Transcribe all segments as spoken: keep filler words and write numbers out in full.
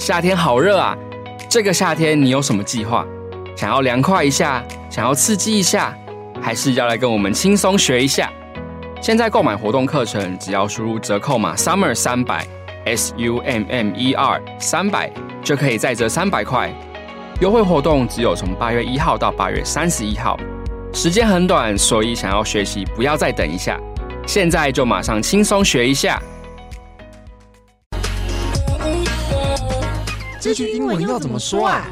夏天好熱啊！這個夏天你有什麼計劃？想要涼快一下，想要刺激一下，還是要來跟我們輕鬆學一下？現在購買活動課程，只要輸入折扣碼 summer 三百 S U M M E R 三百，就可以再折三百塊。優惠活動只有從八月一號到八月三十一號，時間很短，所以想要學習不要再等一下，現在就馬上輕鬆學一下。 這句英文要怎麼說啊？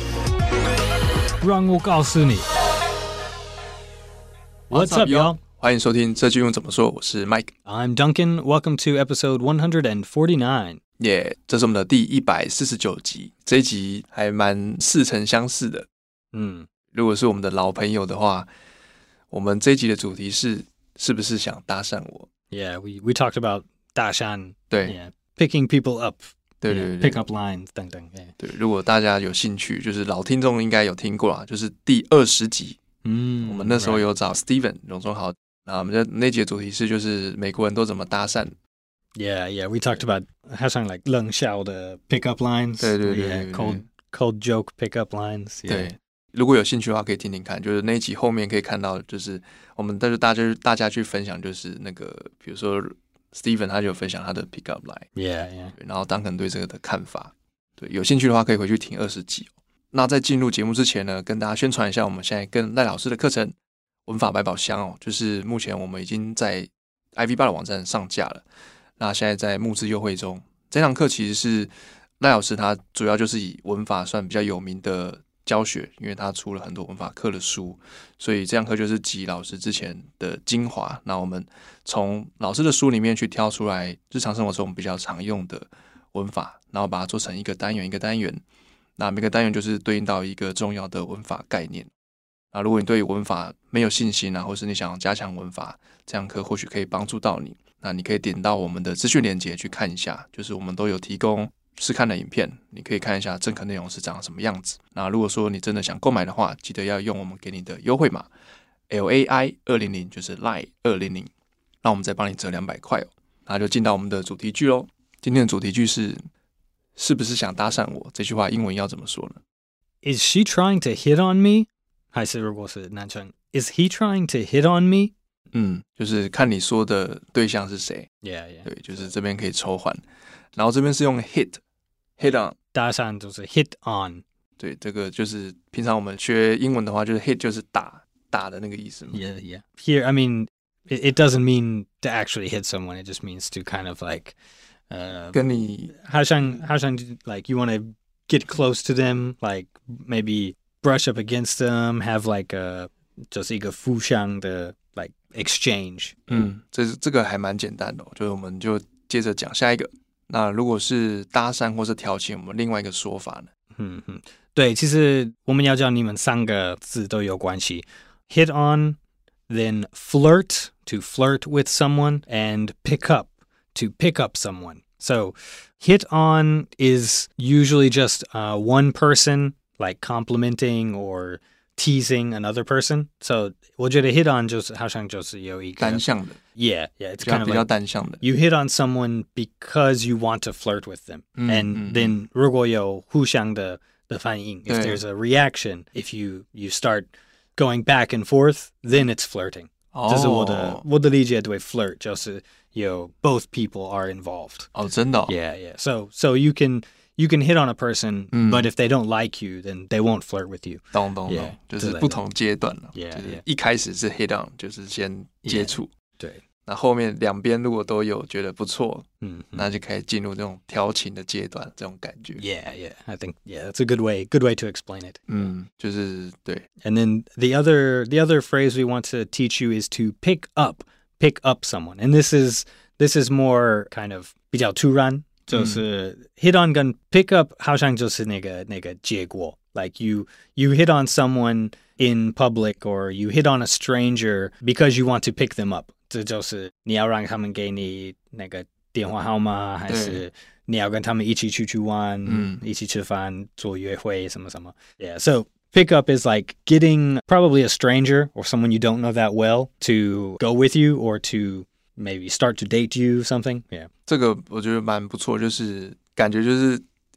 讓我告訴你。What's up, y'all? 歡迎收聽這句英文怎麼說，我是 Mike。 I'm Duncan. Welcome to episode one forty-nine. 耶、yeah, 這是我們的第一百四十九集，這一集還蠻似曾相識的。嗯，如果是我們的老朋友的話，我們這一集的主題是是不是想搭訕我 ？Yeah, we we talked about 搭訕， 對 ，yeah, picking people up。 對對對 ，pick up lines 等等。 對，如果大家有興趣，就是老聽眾應該有聽過啦，就是第二十集。嗯，我們那時候有找 Steven 榮忠豪，那我們的那集的主題是就是美國人都怎麼搭訕。 Yeah, yeah, we talked about 好像 like 冷笑的 pick up lines。 對對對 ，yeah, cold cold joke pick up lines。 對，如果有興趣的話，可以聽聽看，就是那一集後面可以看到，就是我們帶着大家大家去分享，就是那個比如說。Steven 他就有分享他的 pick up line，yeah, yeah. 然後 Duncan 對這個的看法，對，有興趣的話可以回去聽二十集。那在進入節目之前呢，跟大家宣傳一下，我們現在跟賴老師的課程文法百寶箱哦，就是目前我們已經在 I V 八的網站上架了，那現在在募資優惠中。這堂課其實是賴老師他主要就是以文法算比較有名的教學，因為他出了很多文法課的書，所以這堂課就是集老師之前的精華。那我們從老師的書裡面去挑出來日常生活中我們比較常用的文法，然後把它做成一個單元一個單元。那每個單元就是對應到一個重要的文法概念。那如果你對文法沒有信心啊，或是你想要加強文法，這堂課或許可以幫助到你。那你可以點到我們的資訊連結去看一下，就是我們都有提供試看的影片，你可以看一下正課內容是長什麼樣子。那如果說你真的想購買的話，記得要用我們給你的優惠碼 L A I 二零零，就是 Line 二零零，那我們再幫你折兩百塊哦。那就進到我們的主題句嘍。今天的主題句是是不是想搭訕我？這句話英文要怎麼說呢？ Is she trying to hit on me？ 還是如果是男生 Is he trying to hit on me？ 嗯，就是看你說的對象是誰。 Yeah, yeah. 對，就是這邊可以抽換，然後這邊是用 hit。Hit on 搭訕就是 hit on， 對，這個就是平常我們學英文的話，就是 hit 就是打打的那個意思嘛。 Yeah, yeah. Here, I mean, it, it doesn't mean to actually hit someone. It just means to kind of like, uh, 跟你好像好像 like you want to get close to them, like maybe brush up against them, have like a 就是一個互相的 like exchange。 嗯，這這個還蠻簡單的哦，就是我們就接着講下一個。那如果是搭訕或是調情，我們另外一個說法呢？ 嗯嗯，對，其實我們要教你們三個字都有關係 ：hit on, then flirt to flirt with someone, and pick up to pick up someone. So, hit on is usually just uh, one person like complimenting or teasing another person. So, 我覺得 hit on 就是好像就是有一個單向的。 Yeah, yeah, it's kind of 比較單向的。 You hit on someone because you want to flirt with them, 嗯 and 嗯 then 如果有互相的的反應 if there's a reaction, if you you start going back and forth, then it's flirting. 哦， 這是我的我的理解對 flirt 就是有 both people are involved. 哦，真的哦。 Yeah, yeah. So so you can you can hit on a person, 嗯 but if they don't like you, then they won't flirt with you. 懂懂懂 Yeah, 就是不同階段了。 Yeah, 就是一開始是 hit on， 就是先接觸。 Yeah, 對。 那後面兩邊如果都有覺得不錯， 嗯， 那就可以進入這種調情的階段，這種感覺。 Yeah, yeah. I think yeah, that's a good way, good way to explain it. 嗯，就是對。 And then the other the other phrase we want to teach you is to pick up, pick up someone. And this is this is more kind of 比較突然，就是 hit on 跟 pick up 好像就是那個那個結果。Like you you hit on someone in public or you hit on a stranger because you want to pick them up. 這就是你要讓他們給你那個電話號碼，還是你要跟他們一起出去玩，嗯，一起吃飯，做約會，什麼什麼。Yeah, so pick up is like getting probably a stranger or someone you don't know that well to go with you or to maybe start to date you something. Yeah. 這個我覺得蠻不錯，就是感覺就是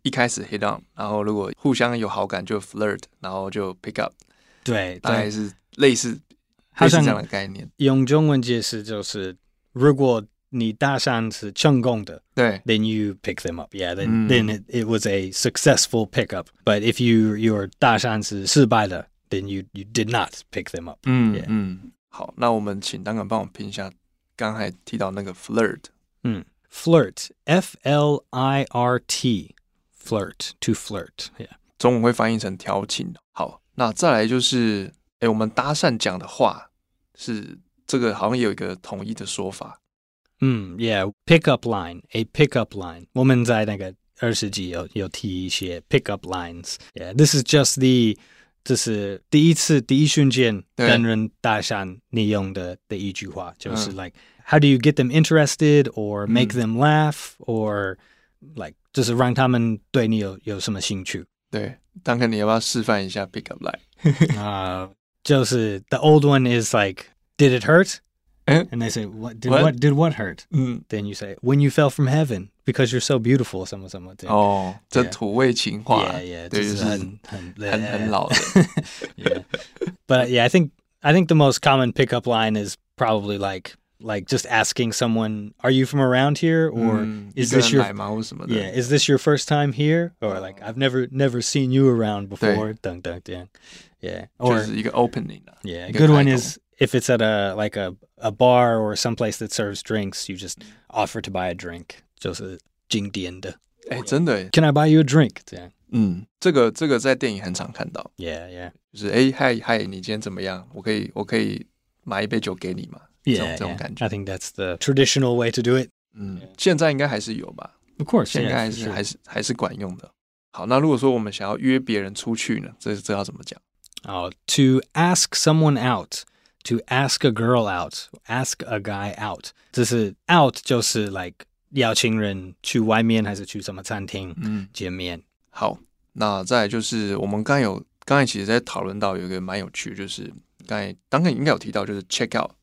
一開始 hit on， 然後如果互相有好感就 flirt， 然後就 pick up。 對， 大概是類似類似這樣的概念。 用中文解釋就是，如果你搭訕是成功的， 對 ，then you pick them up. Yeah, then、嗯、then it, it was a successful pickup. But if you your 搭訕是失敗的 then you you did not pick them up. 嗯 yeah. 嗯，好，那我們請Duncan幫我拼一下剛才提到那個 flirt。 嗯 ，flirt, F L I R T, flirt, to flirt. Yeah. 中文會翻譯成調情。好，那再來就是，哎，我們搭訕講的話是這個好像有一個統一的說法。 嗯 ，Yeah, pickup line, a pickup line. 我們在那個二十集有有提一些 pickup lines. Yeah, this is just the 這是第一次第一瞬間跟人搭訕你用的的一句話，就是 like、嗯、how do you get them interested or make、嗯、them laugh or like 就是讓他們對你有有什麼興趣。 對，當然你要不要示範一下 pickup line？ 啊、uh, 就是 the old one is like did it hurt？And they say, what did what, what did what hurt? 嗯 Then you say, when you fell from heaven because you're so beautiful, 什麼什麼的。哦， 這土味情話。 Yeah, yeah， 對， 就是很很很很老的。 Yeah, but yeah, I think I think the most common pickup line is probably like like just asking someone, "Are you from around here?" or、嗯、"Is this your yeah? Is this your first time here?" or like "I've never never seen you around before." 等等这樣 Yeah, or 就是一個 opening 啊。 Yeah, a good one is if it's at a like a a bar or someplace that serves drinks, you just offer to buy a drink. 就是經典的。 哎，真的耶。 Can I buy you a drink? 這樣。 嗯，這個這個在電影很常看到。 Yeah, yeah. 就是哎嗨嗨，你今天怎麼樣？我可以我可以買一杯酒給你嗎？ Yeah, 這種這種感覺。 I think that's the traditional way to do it. 嗯，現在應該還是有吧。 Of course, 現在還是、yeah, 還是還是管用的。好，那如果說我們想要約別人出去呢，這這要怎麼講？ 哦、oh, ，to ask someone out, to ask a girl out, ask a guy out. 這是 out 就是 like 邀請人去外面還是去什麼餐廳嗯見面。 好，那再來就是我們剛才有剛才其實在討論到有一個蠻有趣，就是剛才當然應該有提到就是 check out。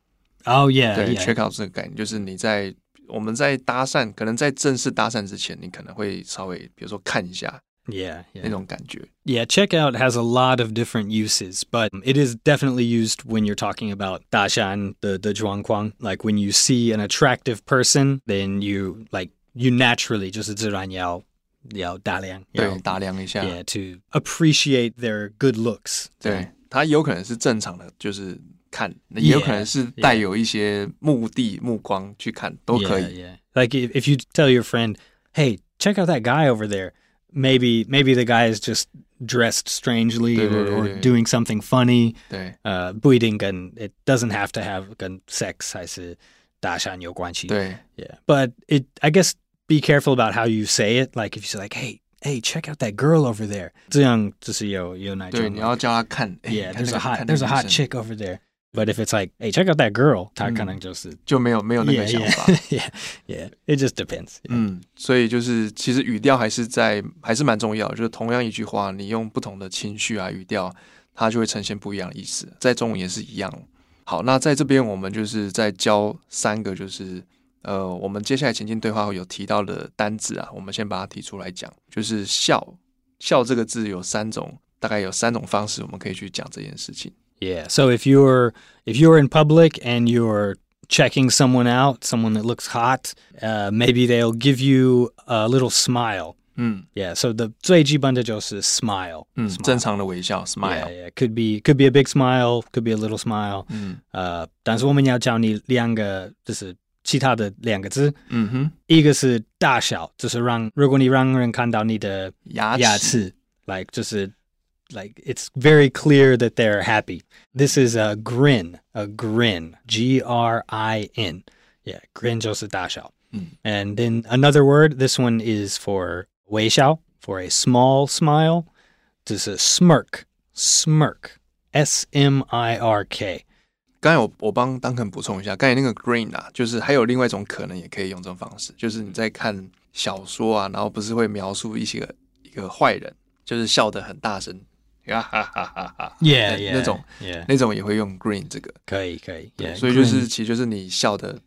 Oh yeah， 對 yeah. check out 這個概念就是你在我們在搭訕，可能在正式搭訕之前，你可能會稍微比如說看一下。 Yeah, yeah. 那種感覺。 Yeah, checkout has a lot of different uses, but it is definitely used when you're talking about 搭訕的的狀況. Like when you see an attractive person, then you like you naturally 就是自然要要打量， 對，打量一下。 Yeah, to appreciate their good looks. 對，它有可能是正常的，就是看，也有可能是帶有一些目的、目光去看，都可以。 Yeah, yeah. Like if if you tell your friend, "Hey, check out that guy over there." Maybe maybe the guy is just dressed strangely 對對對 or, or doing something funny. 對， 呃，不一定跟 it doesn't have to have 跟 sex 還是搭訕有關係。 對 Yeah, but it I guess be careful about how you say it. Like if you say like, hey, hey, check out that girl over there. 這樣就是有有那種。 對，你要叫他看。 Yeah, there's a hot there's a hot chick over there. But if it's like, hey, check out that girl, 他可能就是、嗯、 就沒有沒有那個想法。 Yeah, yeah, yeah, it just depends. Yeah. 嗯，所以就是其實語調還是在還是蠻重要的，就是同樣一句話，你用不同的情緒啊語調，它就會呈現不一樣的意思。在中文也是一樣。好，那在這邊我們就是在教三個，就是呃，我們接下來情境對話會有提到的單字啊，我們先把它提出來講。就是笑，笑這個字有三種，大概有三種方式，我們可以去講這件事情。 Yeah. So if you're if you're in public and you're checking someone out, someone that looks hot, uh, maybe they'll give you a little smile. 嗯 Yeah. So the 最基本的就是 smile. 嗯 smile. 正常的微笑 smile. Yeah, yeah. Could be could be a big smile, could be a little smile. 嗯呃，但是我們要教你兩個，就是其他的兩個字。 嗯哼， 一個是大笑，就是讓如果你讓人看到你的牙齒， 牙齒 like 就是。Like, it's very clear that they're happy. This is a grin, a grin, G R I N. Yeah, grin 就是大笑。 嗯 And then another word, this one is for 微笑, for a small smile. This is smirk, smirk, S M I R K. 剛才我我幫Duncan補充一下，剛才那個 grin 啊，就是還有另外一種可能也可以用這種方式，就是你在看小說啊，然後不是會描述一些一個壞人，就是笑得很大聲。哈哈哈哈哈 Yeah, yeah, 那種 yeah. 那種也會用 grin 這個， 可以可以， 對，所以就是其實就是你笑的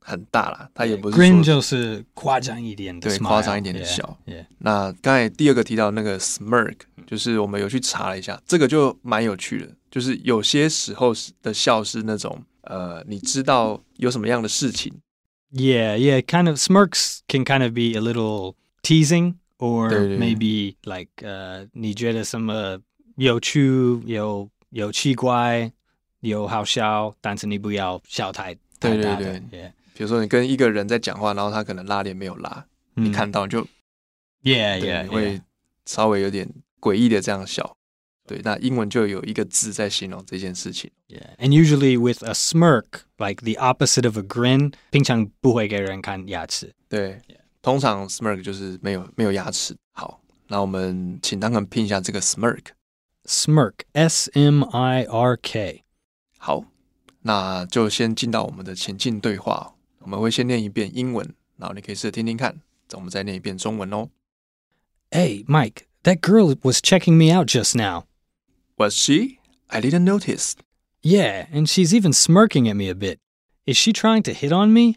很大啦，它也不是 grin 就是誇張一點的 smile， 對，誇張一點的笑。 Yeah, yeah. 那剛才第二個提到那個 smirk， 就是我們有去查了一下，這個就蠻有趣的，就是有些時候的笑是那種呃，你知道有什麼樣的事情。 Yeah, yeah, kind of smirks can kind of be a little teasing, or 對對對 maybe like uh, 你覺得什麼有趣、有有奇怪、有好笑，但是你不要笑太太大的。 對對對 yeah. 比如說你跟一個人在講話，然後他可能拉鏈沒有拉， 嗯、 你看到就 yeah, 對 yeah, 你會稍微有點詭異的這樣笑。對，那英文就有一個字在形容這件事情。 Yeah, and usually with a smirk, like the opposite of a grin, 平常不會給人看牙齒。 對， yeah. 通常 smirk 就是沒有沒有牙齒。好，那我們請當肯拼一下這個 smirk。 Smirk, S M I R K。 好，那就先進到我們的情境對話。我們會先念一遍英文，然後你可以試着聽聽看，我們再念一遍中文哦。 Hey, Mike, that girl was checking me out just now. Was she? I didn't notice. Yeah, and she's even smirking at me a bit. Is she trying to hit on me?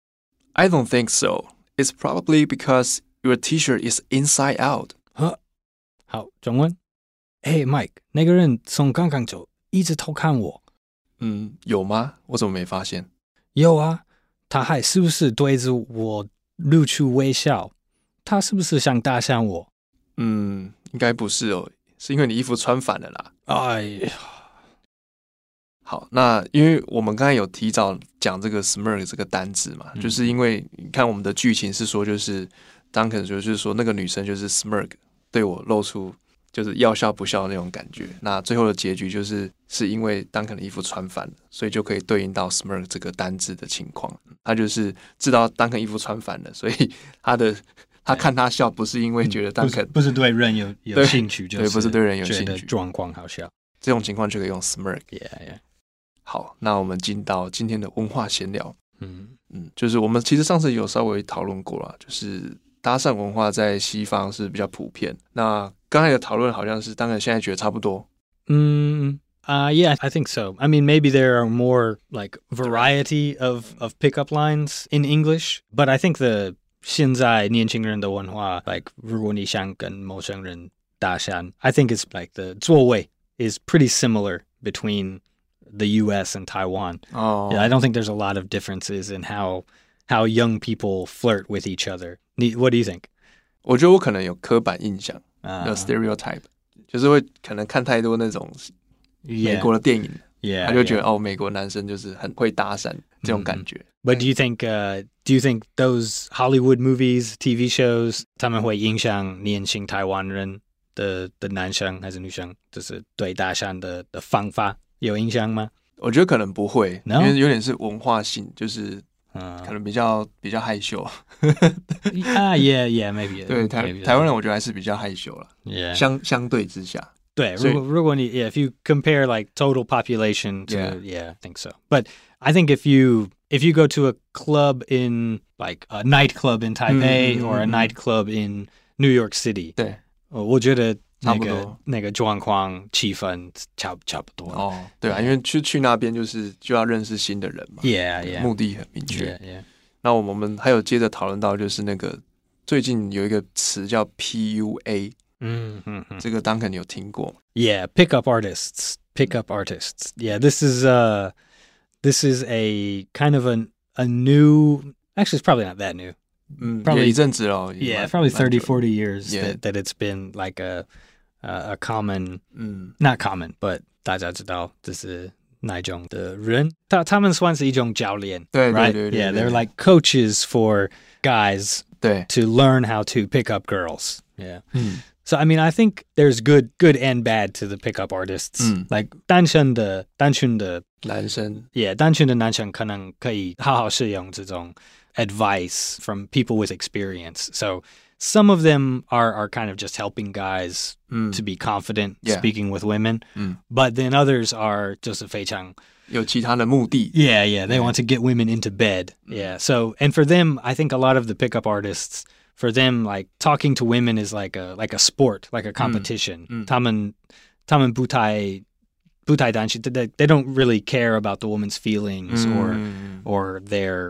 I don't think so. It's probably because your t-shirt is inside out. Huh? 好，中文。Hey, Mike, 那個人從剛剛就一直偷看我。 嗯，有嗎？我怎麼沒發現？ 有啊，他還是不是對着我露出微笑？他是不是想搭訕我？ 嗯，應該不是哦，是因為你衣服穿反了啦。 哎呀， 好，那因為我們剛才有提早講這個 smirk 這個單字嘛，嗯、就是因為你看我們的劇情是說，就是 Duncan 就是說那個女生就是 smirk 對我露出就是要笑不笑的那種感覺。那最後的結局就是是因為 Duncan 的衣服穿反了，所以就可以對應到 smirk 這個單字的情況。他就是知道 Duncan 衣服穿反了，所以他的他看他笑不是因為覺得 Duncan、嗯、 不是對人有有興趣，就是對，不是對人有興趣， 狀況好笑， 這種情況就可以用 smirk。Yeah, yeah. 好，那我們進到今天的文化閒聊。 嗯嗯，就是我們其實上次有稍微討論過了，就是搭訕文化在西方是比較普遍。那剛才的討論好像是，當然現在覺得差不多。 嗯uh, yeah, I think so. I mean, maybe there are more like variety of of pickup lines in English, but I think the 現在年輕人的文化 like 如果你想跟陌生人搭訕 I think it's like the 座位 is pretty similar between the U S and Taiwan. Oh. Yeah, I don't think there's a lot of differences in how how young people flirt with each other. What do you think? 我覺得我可能有刻板印象， uh, 有 stereotype， 就是會可能看太多那種美國的電影， yeah, 他就覺得 yeah. 哦，美國男生就是很會搭訕這種感覺。 But do you think, uh, do you think those Hollywood movies, T V shows, 他們會影響年輕台灣人的的男生還是女生，就是對搭訕的的方法有影響嗎？ 我覺得可能不會， No? 因為有點是文化性，就是可能比較、uh, 比較害羞。 啊、uh, ，yeah, yeah, maybe. 對台 maybe 台灣人，我覺得還是比較害羞了。 Yeah. 相相對之下， 對，如果如果你 yeah, if you compare like total population to yeah. yeah, I think so. But I think if you if you go to a club in like a nightclub in Taipei、嗯、or a nightclub in New York City， 對，我覺得那個那個狀況氣氛差差不多。 哦，對啊，因為去去那邊就是就要認識新的人嘛。 Yeah, yeah. 目的很明確。 Yeah, yeah. 那我們還有接着討論到就是那個最近有一個詞叫 P U A。 嗯嗯嗯， 這個 Duncan 你有聽過 Yeah, pickup artists, pickup artists. Yeah, this is uh, this is a kind of a a new. Actually, it's probably not that new. 嗯，也一陣子了。 Yeah, probably thirty, forty years yeah. that that it's been like a a, a common. 嗯 not common, but 大家知道這是哪種的人？他他們算是一種教練， 對 right? 對對對 Yeah, they're like coaches for guys. 對 to learn how to pick up girls. Yeah. 嗯。 So, I mean, I think there's good good and bad to the pickup artists. Mm. Like, 單身的单純的男生 Yeah, 單純的男生可能可以好好使用這種 advice from people with experience. So, some of them are, are kind of just helping guys mm. to be confident yeah. speaking with women. Mm. But then others are 就是非常有其他的目的 Yeah, yeah, they yeah. want to get women into bed. Mm. Yeah, so, and for them, I think a lot of the pickup artists for them, like talking to women is like a like a sport, like a competition. 嗯嗯、 他们他们不太不太担心 they they don't really care about the woman's feelings or、嗯、or their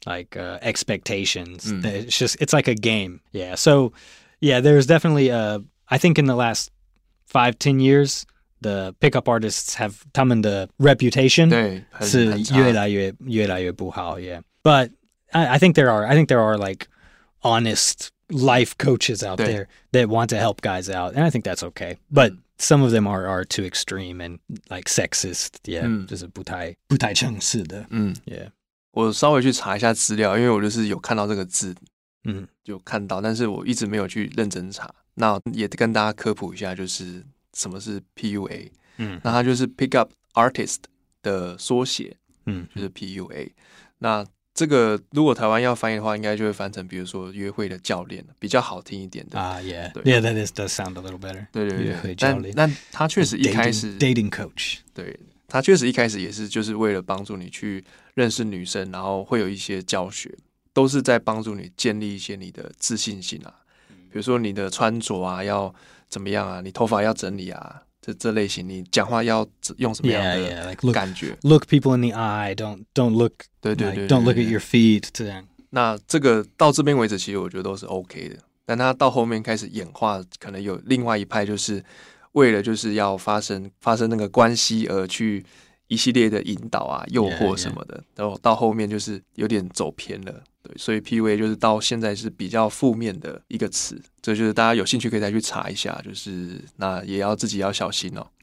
like uh, expectations. Mm. It's just it's like a game. Yeah. So yeah, there's definitely a. I think in the last five ten years, the pickup artists have 他们的 reputation 对是越来越越来越不好。Yeah. But I, I think there are I think there are like honest life coaches out there that want to help guys out, and I think that's okay. But some of them are are too extreme and like sexist. Yeah. 就是不太不太正式的。 嗯 Yeah. 我稍微去查一下資料，因為我就是有看到這個字， 嗯， 有看到，但是我一直沒有去認真查。那也跟大家科普一下，就是什麼是 P U A。嗯，那它就是 Pick Up Artist 的縮寫，嗯，就是 P U A。那這個如果台灣要翻譯的話，應該就會翻成，比如說約會的教練，比較好聽一點的。 啊、uh, ，Yeah，Yeah， that is does sound a little better。 對對對， 約會教練。 但但他確實一開始 dating, dating coach， 對，他確實一開始也是就是為了幫助你去認識女生，然後會有一些教學，都是在幫助你建立一些你的自信心啊。比如說你的穿着啊要怎麼樣啊，你頭髮要整理啊，這這類型，你講話要用什麼樣的感覺 yeah, yeah. Like look, look people in the eye, don't don't look 對對對 like, don't look at your feet 這樣。 那這個到這邊為止，其實我覺得都是 OK 的。但他到後面開始演化，可能有另外一派，就是為了就是要發生發生那個關係而去一系列的引導啊、誘惑什麼的， yeah, yeah. 然後到後面就是有點走偏了。對，所以 P U A 就是到現在是比較負面的一個詞，這就是大家有興趣可以再去查一下，就是那也要自己要小心哦。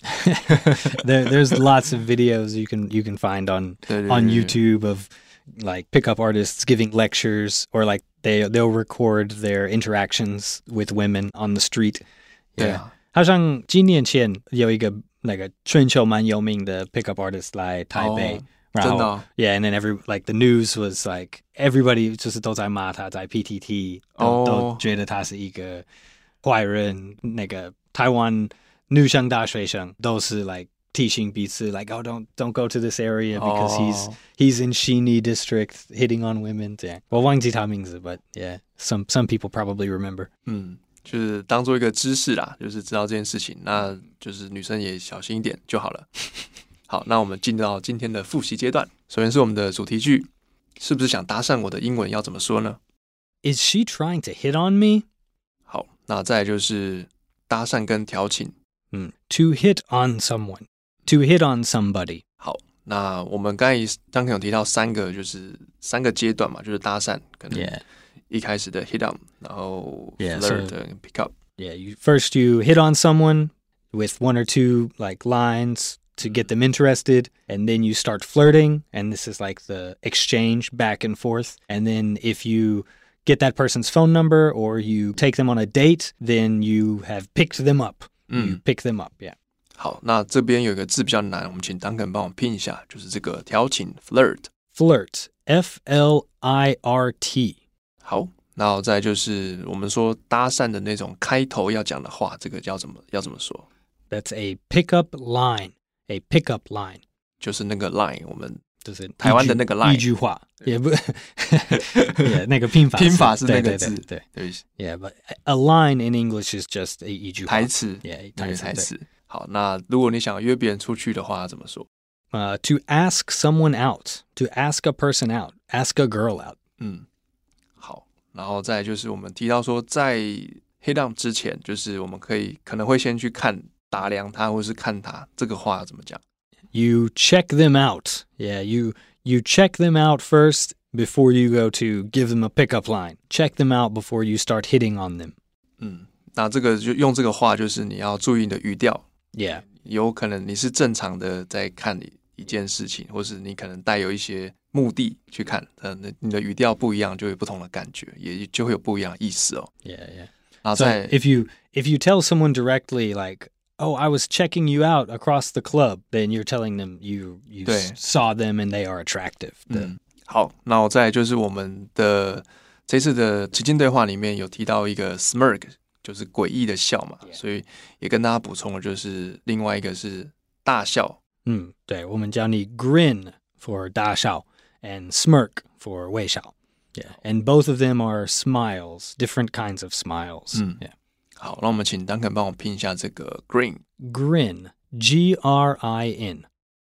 there, there's lots of videos you can you can find on 對對對 on YouTube of like pickup artists giving lectures or like they they'll record their interactions with women on the street. Yeah. 對啊， 好像幾年前有一個那個全球蠻有名的 pickup artist 來台北。Oh. 真的、哦、 yeah, and then every like the news was like everybody 就是都在罵他，在 P T T 都、oh. 都覺得他是一個壞人。那個台灣女生大學生都是 like 提醒彼此 like oh don't don't go to this area because、oh. he's he's in Sheeny district hitting on women 這樣。我忘記他名字 but yeah some some people probably remember。 嗯，就是當做一個知識啦，就是知道這件事情，那就是女生也小心一點就好了。好，那我們進到今天的複習階段。首先是我們的主題句，是不是想搭訕我的英文要怎麼說呢？ Is she trying to hit on me? 好，那再來就是搭訕跟調情。 嗯 ，to hit on someone, to hit on somebody。 好，那我們剛才剛剛有提到三個，就是三個階段嘛，就是搭訕，可能一開始的 hit on， 然後 flirt、yeah, so, 跟 pick up。 Yeah, you, first you hit on someone with one or two like lines.To get them interested, and then you start flirting, and this is like the exchange back and forth. And then if you get that person's phone number or you take them on a date, then you have picked them up. You pick them up, yeah. 好，那這邊有一個字比較難，我們請 Duncan 幫我拼一下，就是這個調情 flirt. Flirt, F L I R T. 好，那再就是我們說搭訕的那種開頭要講的話，這個要怎麼要怎麼說？ That's a pickup line.A pickup line 就是那個 line， 我們就是台灣的那個 line， 一句話也不，yeah, 那個拼法拼法是那個字， 對對對，對 ，yeah, but a line in English is just a 一句話， 台詞 ，yeah， 台詞台詞。好，那如果你想約別人出去的話，怎麼說？ 呃、uh, ，to ask someone out, to ask a person out, ask a girl out。 嗯，好，然後再來就是我們提到說，在 hit on 之前，就是我們可以可能會先去看。打量他或是看他，這個話怎麼講？ You check them out. Yeah, you you check them out first before you go to give them a pickup line. Check them out before you start hitting on them. 嗯，那這個就用這個話，就是你要注意你的語調。 Yeah， 有可能你是正常的在看一件事情，或是你可能帶有一些目的去看，呃，你的語調不一樣，就有不同的感覺，也就會有不一樣的意思哦。 Yeah, yeah. 然後再 So if you if you tell someone directly like.Oh, I was checking you out across the club. Then you're telling them you you saw them and they are attractive. 嗯，好，那我再來就是我們的這次的情境對話裡面有提到一個 smirk， 就是詭異的笑嘛， yeah. 所以也跟大家補充了，就是另外一個是大笑。 嗯，對，我們叫你 grin for 大笑 and smirk for 微笑。Yeah, and both of them are smiles, different kinds of smiles. 嗯 yeah. 好，那我們請 Duncan 幫我拼一下這個 grin。 Grin, G R I N.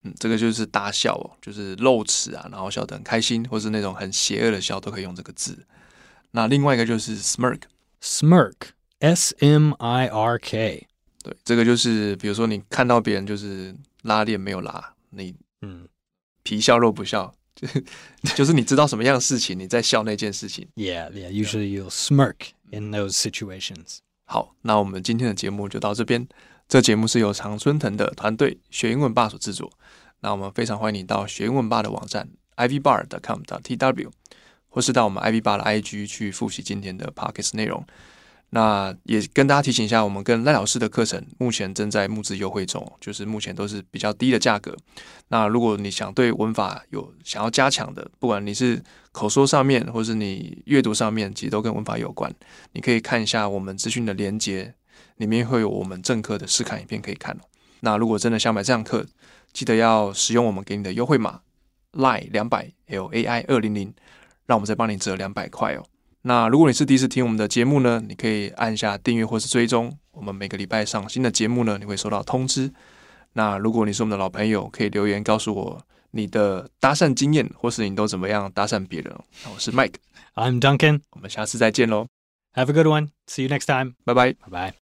嗯，這個就是大笑哦，就是露齒啊，然後笑得很開心，或是那種很邪惡的笑，都可以用這個字。那另外一個就是 smirk，smirk，S M I R K， 對，這個就是比如說你看到別人就是拉鏈沒有拉，你嗯皮笑肉不笑，就是你知道什麼樣的事情，你在笑那件事情。 Yeah, yeah. Usually you'll smirk in those situations. 好，那我們今天的節目就到這邊。這節目是由常春藤的團隊學英文吧所製作。那我們非常歡迎你到學英文吧的網站 i v bar dot com dot t w， 或是到我們 i v bar 的 I G 去複習今天的 podcast 內容。那也跟大家提醒一下，我們跟賴老師的課程目前正在募資優惠中，就是目前都是比較低的價格。那如果你想對文法有想要加強的，不管你是口說上面，或是你閱讀上面，其實都跟文法有關，你可以看一下我們資訊的連結，裡面會有我們正課的試看影片可以看。那如果真的想買這堂課，記得要使用我們給你的優惠碼 L A I 兩百 L A I 二百，讓我們再幫你折兩百塊哦。那如果你是第一次聽我們的節目呢，你可以按下訂閱或是追蹤，我們每個禮拜上新的節目呢，你會收到通知。那如果你是我們的老朋友，可以留言告訴我你的搭訕經驗，或是你都怎麼樣搭訕別人。那我是 Mike， I'm Duncan， 我們下次再見嘍。 Have a good one. See you next time. 拜拜， 拜拜。